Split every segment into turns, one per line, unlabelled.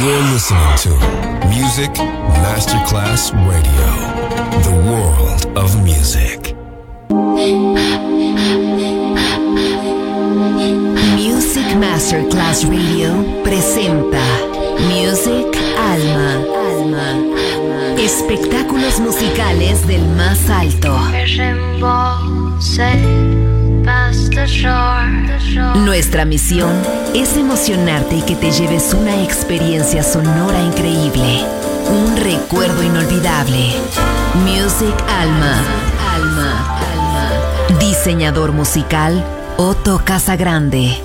You're listening to Music Masterclass Radio, the world of music.
Music Masterclass Radio presenta Music Alma. Espectáculos musicales del más alto. Nuestra misión es emocionarte y que te lleves una experiencia sonora increíble, un recuerdo inolvidable. Music Alma. Diseñador musical Otto Casagrande.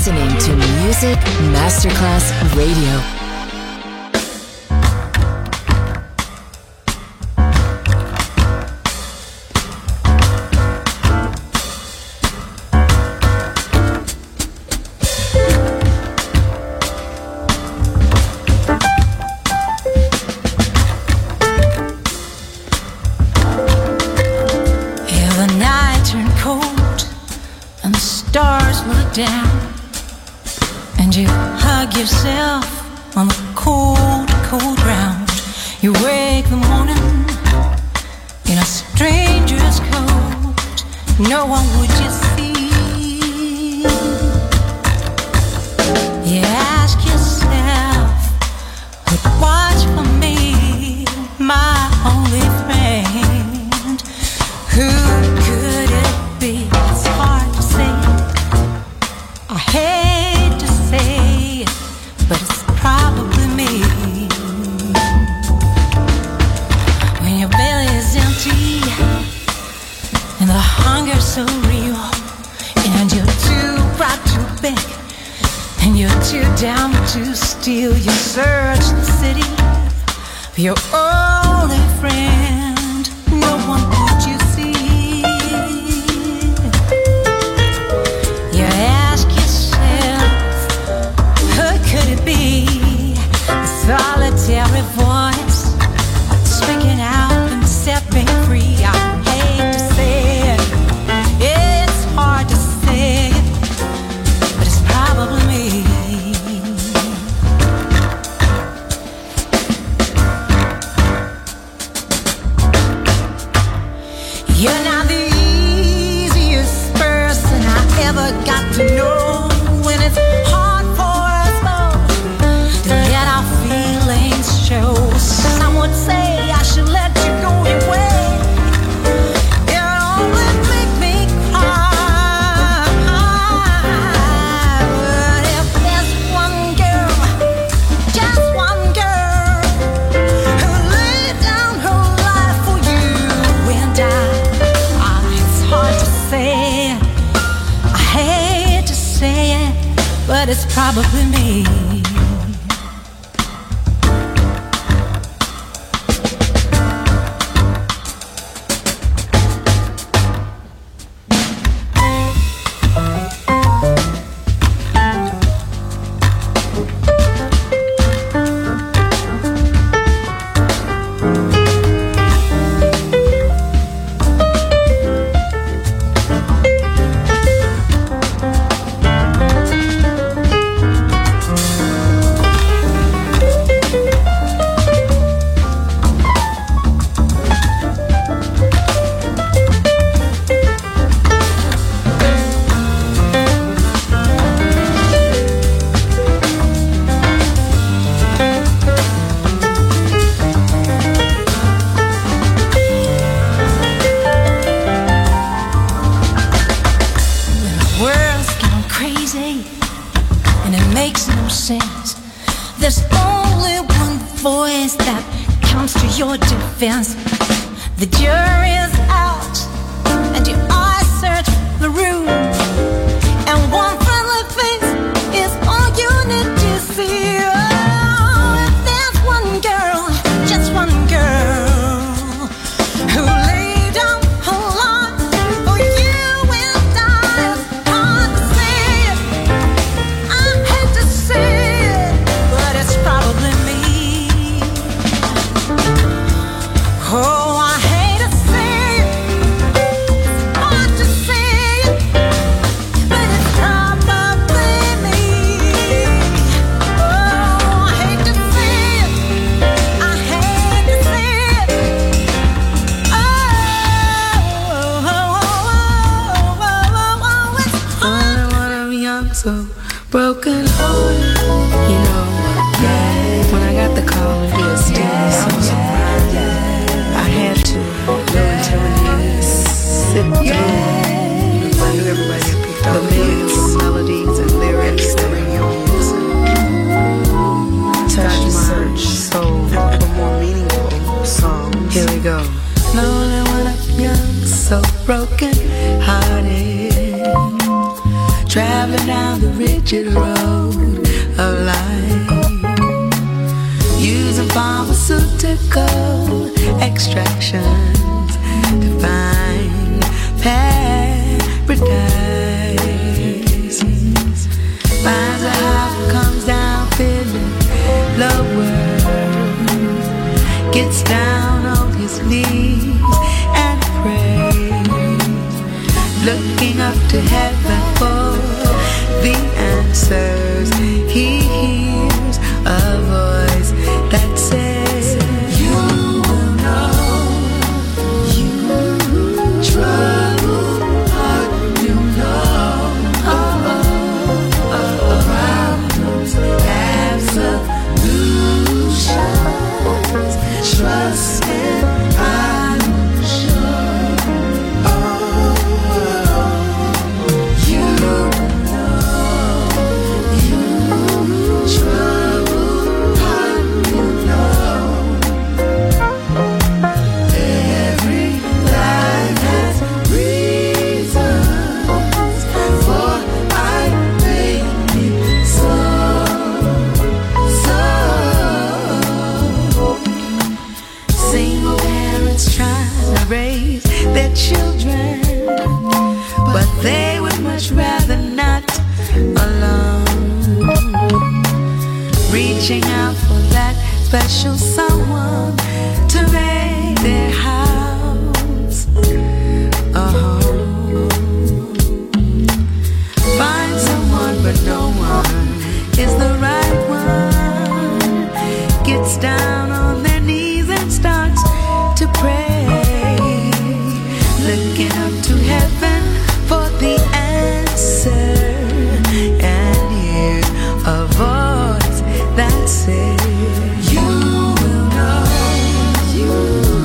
listening to Music Masterclass Radio.
Down, and you hug yourself on the cold, cold ground. You wake the morning in a stranger's coat. No one would you see. You ask yourself, who'd watch for me, my only friend? Who could it be? It's hard to say. I hate to say it, but it's probably me. When your belly is empty and the hunger's so real, and you're too proud to beg, and you're too down to steal, you search the city for your only friend. No one would you see. You ask could it be the solitary voice speaking out and set me free? I hate to say it, it's hard to say it, but it's probably me. You're not the easiest person I ever got to know, when it's hard for show. Some would say I should let you go your way. You only make me cry. But if there's one girl, just one girl, who laid down her life for you and it's hard to say. I hate to say it, but it's probably me. The jury's out, and your eyes search the room, and one friendly face is all you need to see. Oh, if there's one girl, just one girl, who laid down her life for you and I, it's hard to say it, I hate to say it, but it's probably me. Oh, I hate to say it, it's hard to say it, but it's probably me. Oh, I hate to say it, I hate to say it. It's hard.
When I'm young, so broken hearted, you know. Yeah. When I got the call to do a studio song. I had to really sit through. I knew everybody had picked up the lyrics, melodies, and lyrics that touched my soul for more meaningful songs. Here we go. Lonely when I'm young, so broken hearted, traveling down the rich twisted road of life, using pharmaceutical extractions to find paradise. Finds a house, comes down feeling lower, gets down on his knees and prays, looking up to heaven for the answers. He hears a voice that says, you will know, you trouble heart, you know, problems have solutions, trust and I'm sure. You know, you trouble heart, you know, every life has reasons, for I made it so. Single parents trying to raise their children, but they would much rather not alone. Reaching out for that special someone to make their house a home. Find someone, but no one is the right one. Gets down on their knees and starts to pray, looking up to heaven for the answer, and hears a voice that says, you will know, you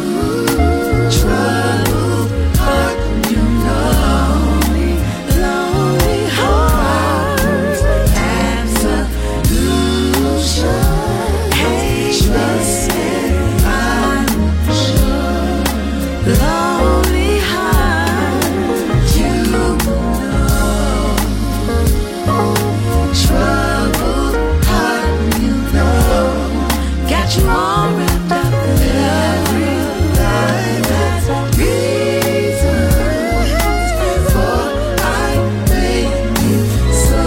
troubled heart, you lonely, lonely heart, and solution. Hey, trust and I'm sure. Lonely heart, you know, troubled heart, you know, got you all wrapped up in every life has reasons, for I made it so,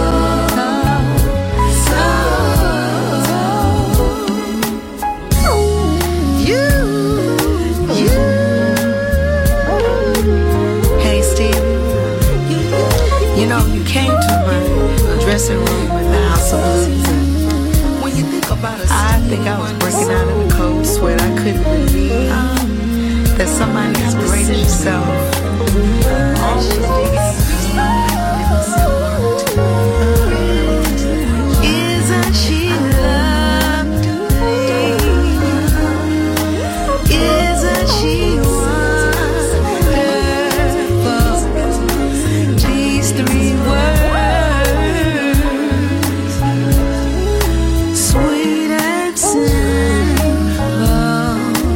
you. Hey Steve, you know you came to my dressing room in the House of Blues, and when you think about it, I think I was breaking out in a cold sweat. I couldn't believe that somebody as great as yourself isn't she lovely? Isn't she wonderful? These three words, sweet and simple.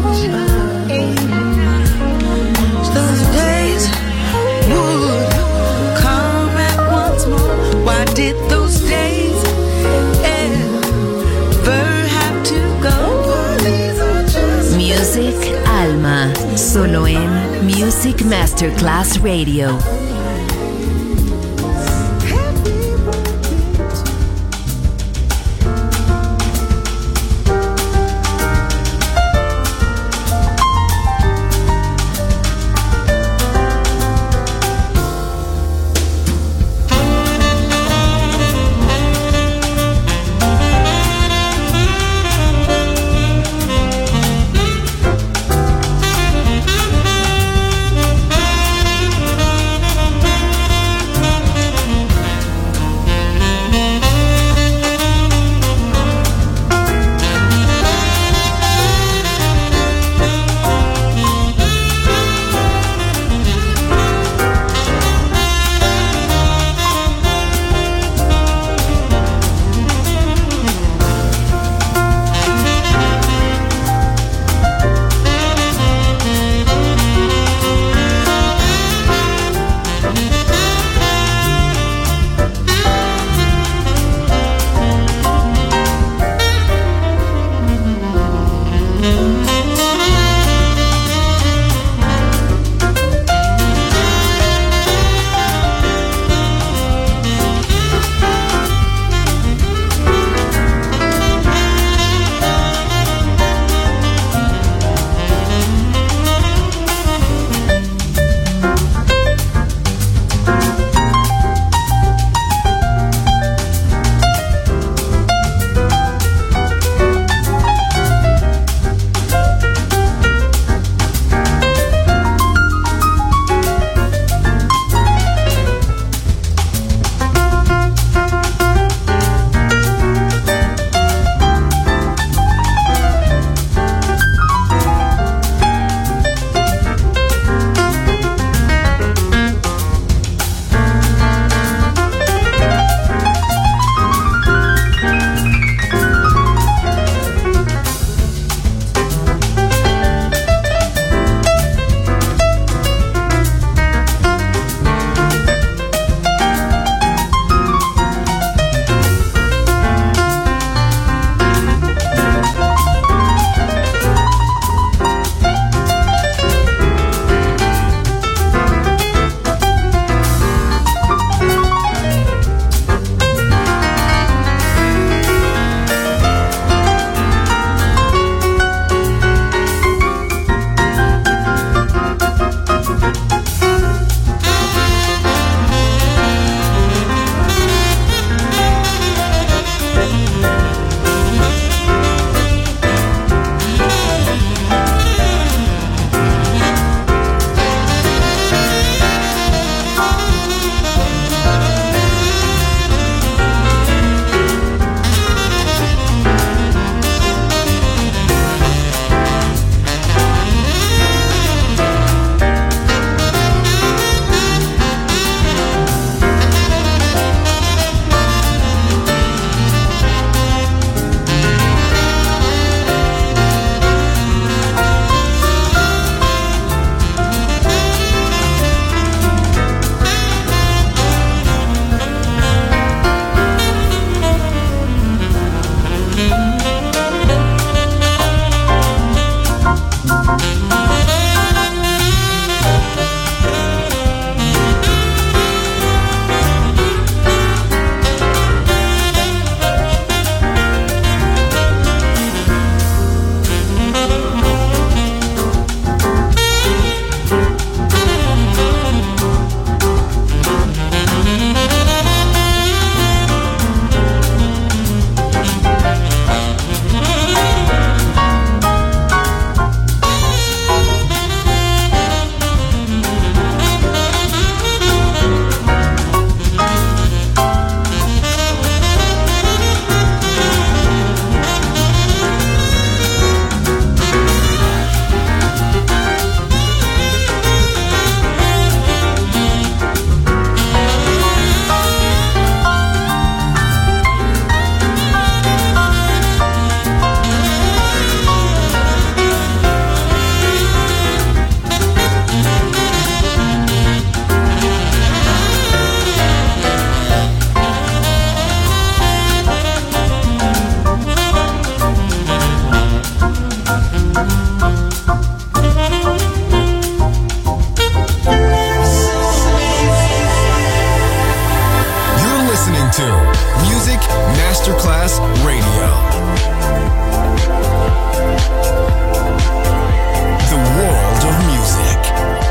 Those days would come back once more. Why did those days ever have to go?
Music Alma, solo en Music Masterclass Radio.
to Music Masterclass Radio. The world of music.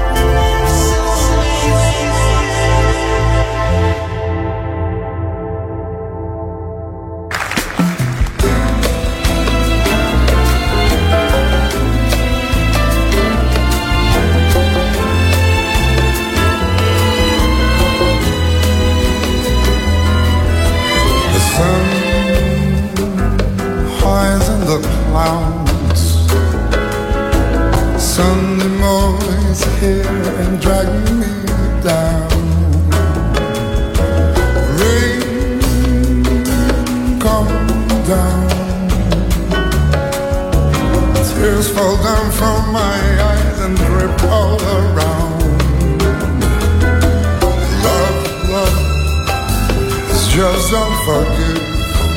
Sunday morning's here and dragging me down. Rain, come down. Tears fall down from my eyes and drip all around. Love is just unforgiven.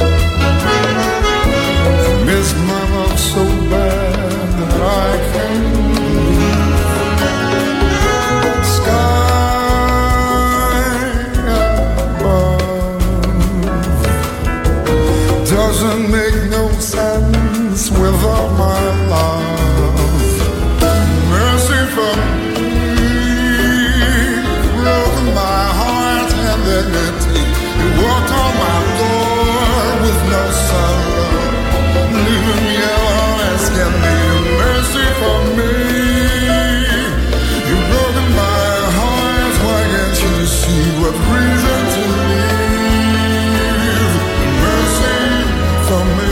I miss my love so bad that I can't believe. Sky above doesn't make no sense without my love. Mercy for me, broken my heart and dignity. You walked on my door with no sorrow, leaving me alone, asking me mercy for me. You've broken my heart, why can't you see what reason to leave? Mercy for me.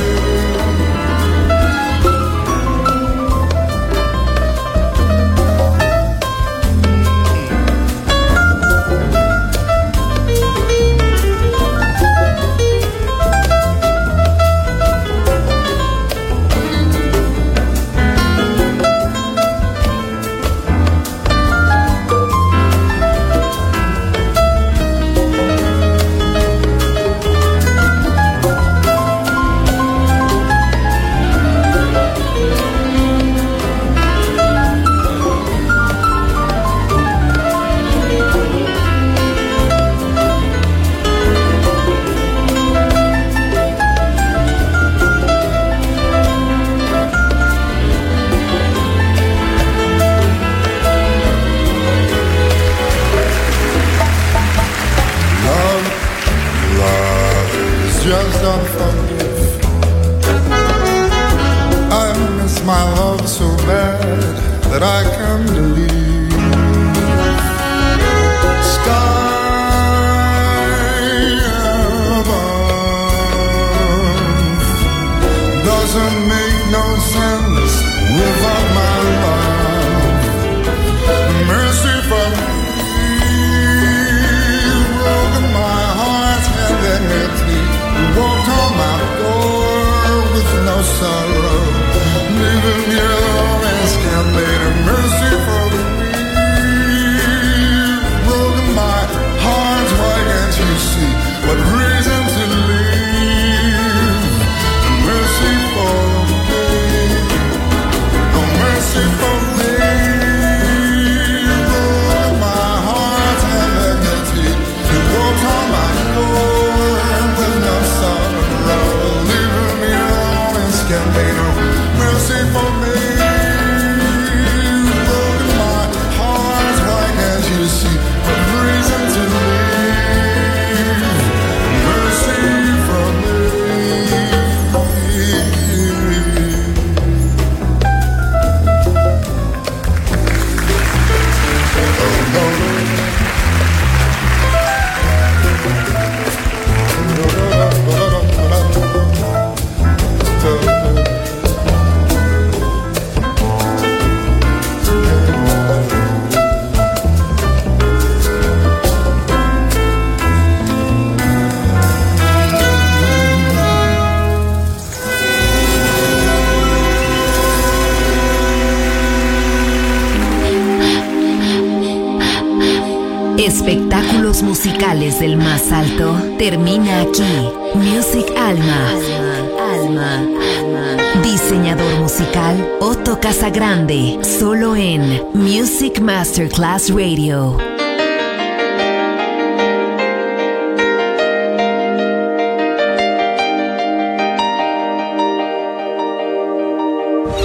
Just don't forgive. I miss my love so bad that I can't believe. Sky above doesn't make no sense without my love. Mercy for me, broken my heart and dignity. Walked on my door with no sorrow, leaving me alone and scared. Later, mercy for me, broken my heart. Why can't you see what reason to leave? Mercy for me, no mercy for me. Broken my heart and dignity. You walked on my door with no sorrow, leaving me alone and scared. Later, mercy for me. Broken my heart, why can't you see what reason to leave? Mercy for me.
Espectáculos musicales del más alto termina aquí. Music Alma. Diseñador musical Otto Casagrande, solo en Music Masterclass Radio.